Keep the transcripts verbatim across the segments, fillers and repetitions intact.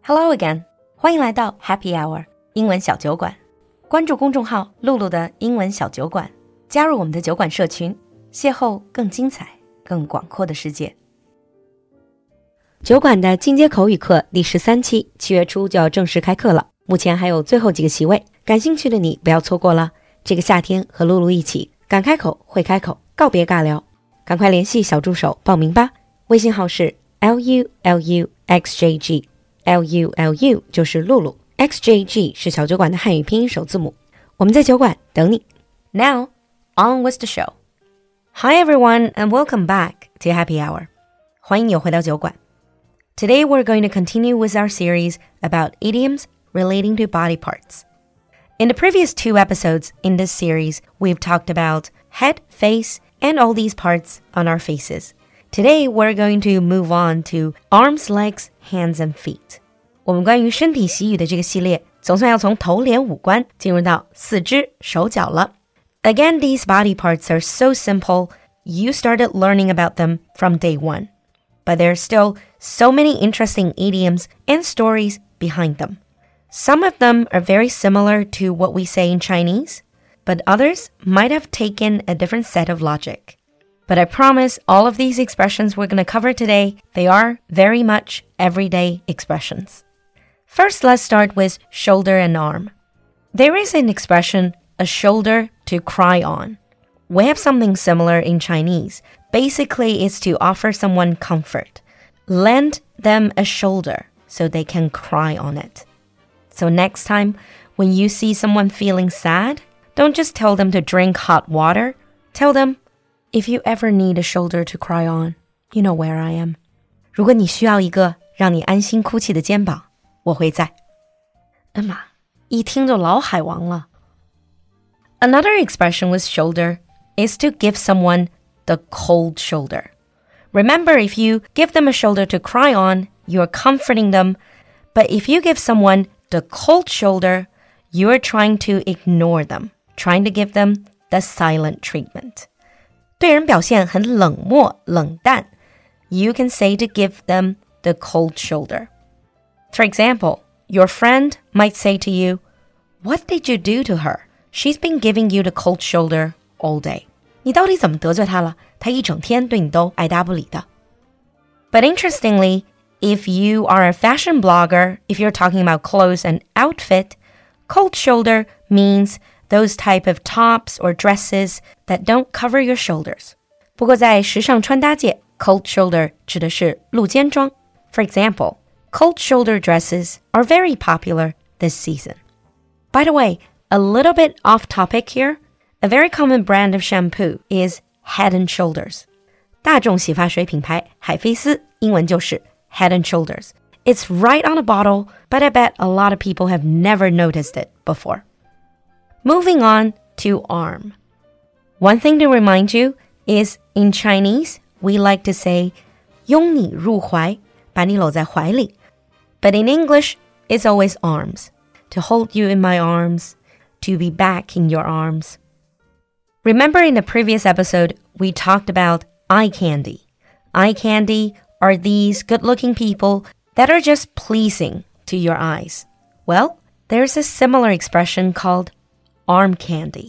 Hello again， 欢迎来到 Happy Hour 英文小酒馆。关注公众号露露的英文小酒馆，加入我们的酒馆社群，邂逅更精彩、更广阔的世界。酒馆的进阶口语课第十三期，七月初就要正式开课了，目前还有最后几个席位，感兴趣的你不要错过了。这个夏天和露露一起敢开口会开口，告别尬聊，赶快联系小助手报名吧。微信号是 L U L U X J G L U L U 就是露露 X J G 是小酒馆的汉语拼音首字母。我们在酒馆等你。Now, on with the show. Hi everyone and welcome back to Happy Hour. 欢迎你回到酒馆。Today we're going to continue with our series about idioms relating to body parts. In the previous two episodes in this series, we've talked about head, face, and all these parts on our faces.Today, we're going to move on to arms, legs, hands, and feet. 我们关于身体习语的这个系列，总算要从头脸五官进入到四肢手脚了。Again, these body parts are so simple, you started learning about them from day one. But there are still so many interesting idioms and stories behind them. Some of them are very similar to what we say in Chinese, but others might have taken a different set of logic.But I promise all of these expressions we're going to cover today, they are very much everyday expressions. First, let's start with shoulder and arm. There is an expression, a shoulder to cry on. We have something similar in Chinese. Basically, it's to offer someone comfort. Lend them a shoulder so they can cry on it. So next time, when you see someone feeling sad, don't just tell them to drink hot water. Tell them,If you ever need a shoulder to cry on, you know where I am. 如果你需要一个让你安心哭泣的肩膀，我会在。哎妈，一听就老海王了。Another expression with shoulder is to give someone the cold shoulder. Remember, if you give them a shoulder to cry on, you're comforting them. But if you give someone the cold shoulder, you're trying to ignore them, trying to give them the silent treatment.对人表现很冷漠冷淡 You can say to give them the cold shoulder. For example, your friend might say to you, What did you do to her? She's been giving you the cold shoulder all day. 你到底怎么得罪她了？她一整天对你都爱答不理的。But interestingly, if you are a fashion blogger, if you're talking about clothes and outfit, cold shoulder means those type of tops or dresses that don't cover your shoulders. 不过在时尚穿搭界 cold shoulder 指的是露肩装 For example, cold shoulder dresses are very popular this season. By the way, a little bit off topic here, a very common brand of shampoo is Head and Shoulders. 大众洗发水品牌海飞丝英文就是 Head and Shoulders. It's right on the bottle, but I bet a lot of people have never noticed it before.Moving on to arm. One thing to remind you is in Chinese, we like to say 拥你入怀, 把你搂在怀里. But in English, it's always arms. To hold you in my arms, to be back in your arms. Remember in the previous episode, we talked about eye candy. Eye candy are these good-looking people that are just pleasing to your eyes. Well, there's a similar expression called arm candy.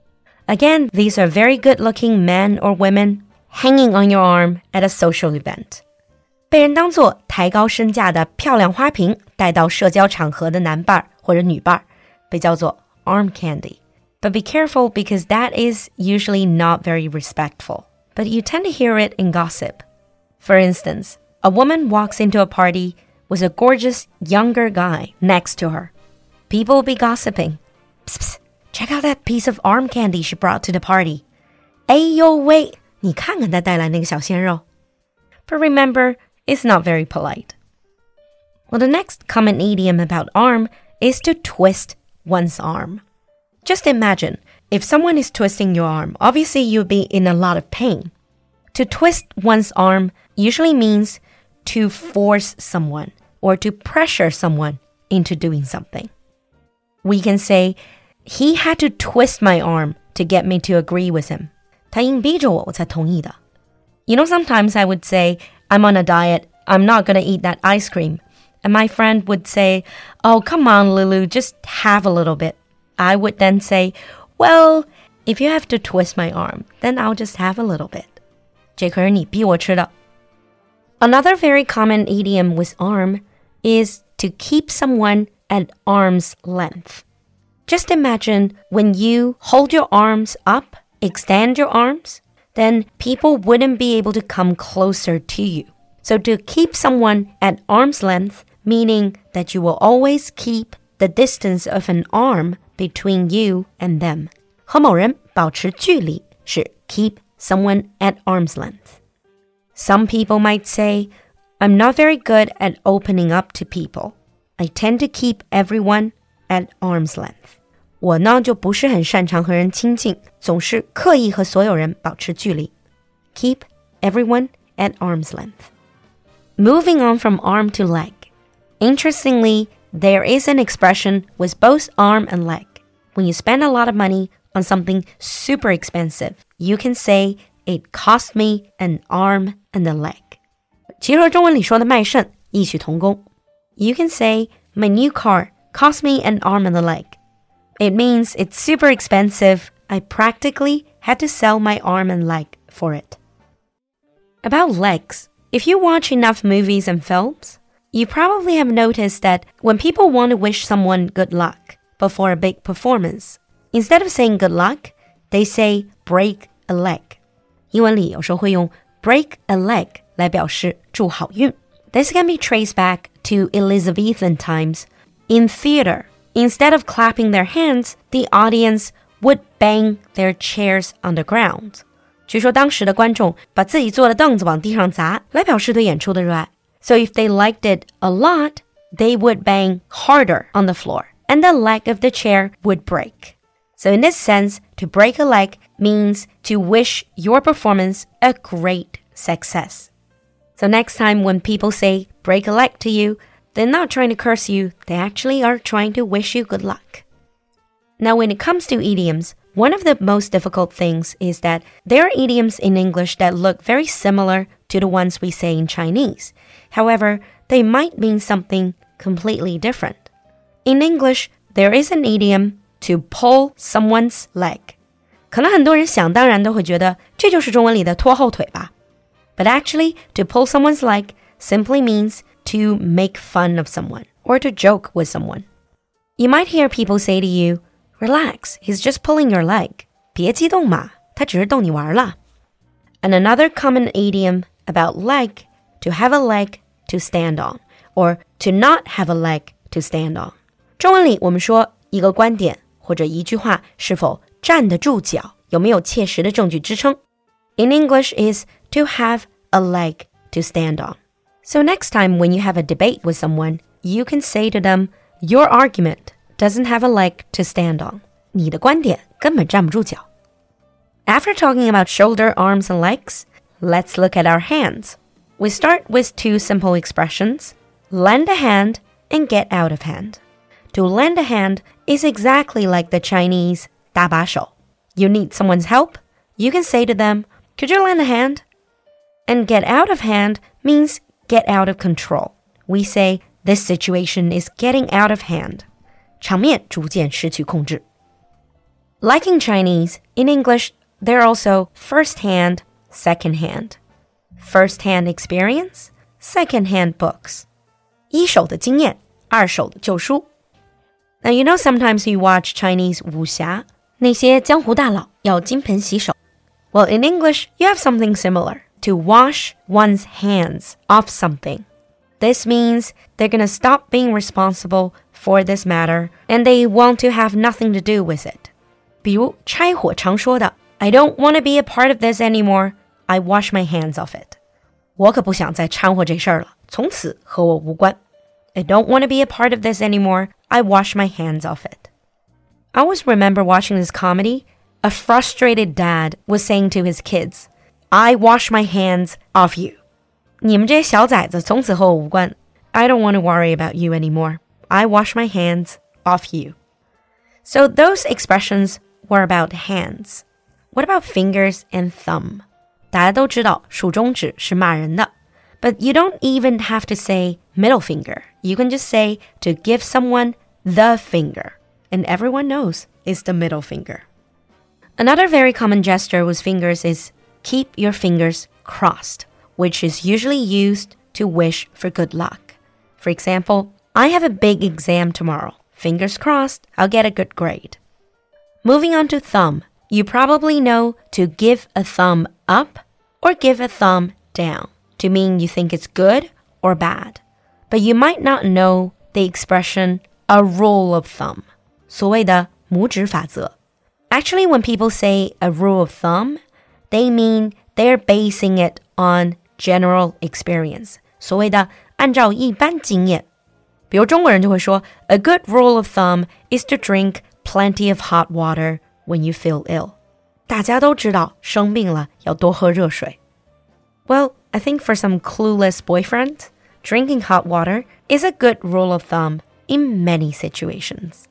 Again, these are very good-looking men or women hanging on your arm at a social event. 被人当作抬高身价的漂亮花瓶带到社交场合的男伴或者女伴被叫做 arm candy. But be careful because that is usually not very respectful. But you tend to hear it in gossip. For instance, a woman walks into a party with a gorgeous younger guy next to her. People will be gossiping. Psst, psst.Check out that piece of arm candy she brought to the party. 哎呦喂，你看看她带来那个小鲜肉。But remember, it's not very polite. Well, the next common idiom about arm is to twist one's arm. Just imagine, if someone is twisting your arm, obviously you'll be in a lot of pain. To twist one's arm usually means to force someone or to pressure someone into doing something. We can say,He had to twist my arm to get me to agree with him. 他硬逼着我，我才同意的。You know, sometimes I would say, I'm on a diet, I'm not going to eat that ice cream. and my friend would say, "Oh, come on, Lulu, just have a little bit." I would then say, "Well, if you have to twist my arm, then I'll just have a little bit." 这可是你逼我吃的。Another very common idiom with arm is to keep someone at arm's length. Just imagine when you hold your arms up, extend your arms, then people wouldn't be able to come closer to you. So to keep someone at arm's length, meaning that you will always keep the distance of an arm between you and them. 和某人保持距离是 keep someone at arm's length. Some people might say, I'm not very good at opening up to people. I tend to keep everyone at arm's length. 我呢就不是很擅长和人亲近，总是刻意和所有人保持距离。Keep everyone at arm's length. Moving on from arm to leg. Interestingly, there is an expression with both arm and leg. When you spend a lot of money on something super expensive, you can say, it cost me an arm and a leg. 其实和中文里说的卖肾异曲同工。You can say, my new car cost me an arm and a leg. It means it's super expensive. I practically had to sell my arm and leg for it. About legs, if you watch enough movies and films, you probably have noticed that when people want to wish someone good luck before a big performance, instead of saying good luck, they say break a leg. 英文里有时候会用 break a leg 来表示祝好运。This can be traced back to Elizabethan times. In theater, instead of clapping their hands, the audience would bang their chairs on the ground. 据说当时的观众把自己坐的凳子往地上砸，来表示对演出的热爱。So if they liked it a lot, they would bang harder on the floor, and the leg of the chair would break. So in this sense, to break a leg means to wish your performance a great success. So next time when people say break a leg to you, they're not trying to curse you, they actually are trying to wish you good luck. Now when it comes to idioms, one of the most difficult things is that there are idioms in English that look very similar to the ones we say in Chinese. However, they might mean something completely different. In English, there is an idiom to pull someone's leg. 可能很多人想当然都会觉得这就是中文里的拖后腿吧。But actually, to pull someone's leg simply means to make fun of someone or to joke with someone. You might hear people say to you, Relax, he's just pulling your leg. 别激动嘛，他只是逗你玩啦。And another common idiom about leg, to have a leg to stand on, or to not have a leg to stand on. 中文里我们说一个观点或者一句话是否站得住脚，有没有切实的证据支撑。In English is to have a leg to stand on. So next time when you have a debate with someone, you can say to them, your argument doesn't have a leg to stand on. 你的观点根本站不住脚。After talking about shoulder, arms, and legs, let's look at our hands. We start with two simple expressions, lend a hand and get out of hand. To lend a hand is exactly like the Chinese 搭把手. You need someone's help, you can say to them, could you lend a hand? And get out of hand means get out of control. We say, this situation is getting out of hand. 场面逐渐失去控制. Like in Chinese, in English, there are also first-hand, second-hand. First-hand experience, second-hand books. 一手的经验，二手的旧书。Now, you know sometimes you watch Chinese 武侠，那些江湖大佬要金盆洗手。Well, in English, you have something similar. To wash one's hands off something. This means they're going to stop being responsible for this matter, and they want to have nothing to do with it. 比如拆火常说的 I don't want to be a part of this anymore. I wash my hands off it. 我可不想再掺和这事儿了，从此和我无关。I don't want to be a part of this anymore. I wash my hands off it. I always remember watching this comedy. A frustrated dad was saying to his kids, I wash my hands off you. 你们这些小崽子从此和我无关。I don't want to worry about you anymore. I wash my hands off you. So those expressions were about hands. What about fingers and thumb? 大家都知道数中指是骂人的。 But you don't even have to say middle finger. You can just say to give someone the finger. And everyone knows it's the middle finger. Another very common gesture with fingers is keep your fingers crossed, which is usually used to wish for good luck. For example, I have a big exam tomorrow. Fingers crossed, I'll get a good grade. Moving on to thumb. You probably know to give a thumb up or give a thumb down to mean you think it's good or bad. But you might not know the expression a rule of thumb. 所谓的拇指法则. Actually, when people say a rule of thumb, they mean they're basing it on general experience. 所谓的按照一般经验。比如中国人就会说 A good rule of thumb is to drink plenty of hot water when you feel ill. 大家都知道生病了要多喝热水。Well, I think for some clueless boyfriend, drinking hot water is a good rule of thumb in many situations.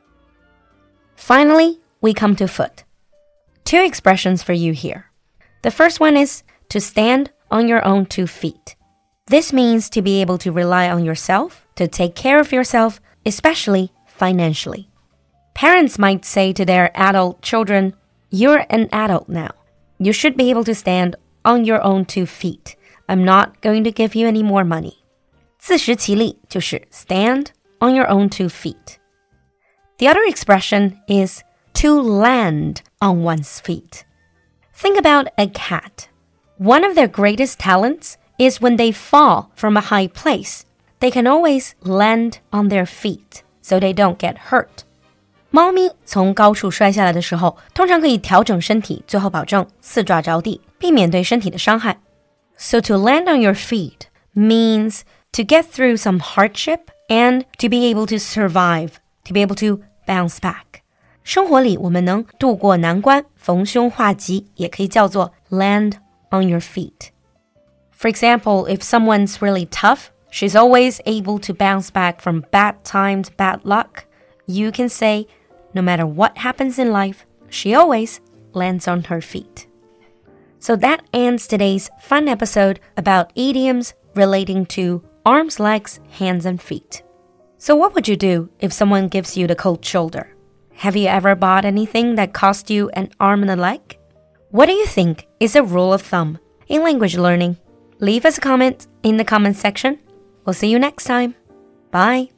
Finally, we come to foot. Two expressions for you here. The first one is to stand on your own two feet. This means to be able to rely on yourself, to take care of yourself, especially financially. Parents might say to their adult children, You're an adult now. You should be able to stand on your own two feet. I'm not going to give you any more money. 自食其力就是 stand on your own two feet. The other expression is to land on one's feet. Think about a cat. One of their greatest talents is when they fall from a high place. They can always land on their feet so they don't get hurt. 猫咪从高处摔下来的时候，通常可以调整身体，最后保证四爪着地，避免对身体的伤害。So to land on your feet means to get through some hardship and to be able to survive, to be able to bounce back. 生活里我们能度过难关，逢凶化吉，也可以叫做 land on your feet. For example, if someone's really tough, she's always able to bounce back from bad times, bad luck. You can say, no matter what happens in life, she always lands on her feet. So that ends today's fun episode about idioms relating to arms, legs, hands, and feet. So what would you do if someone gives you the cold shoulder? Have you ever bought anything that cost you an arm and a leg? What do you think is a rule of thumb in language learning? Leave us a comment in the comment section. We'll see you next time. Bye.